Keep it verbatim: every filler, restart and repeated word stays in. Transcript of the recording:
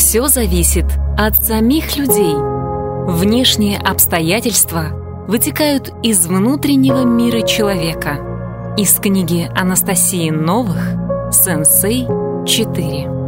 Все зависит от самих людей. Внешние обстоятельства вытекают из внутреннего мира человека. Из книги Анастасии Новых «Сенсей четыре».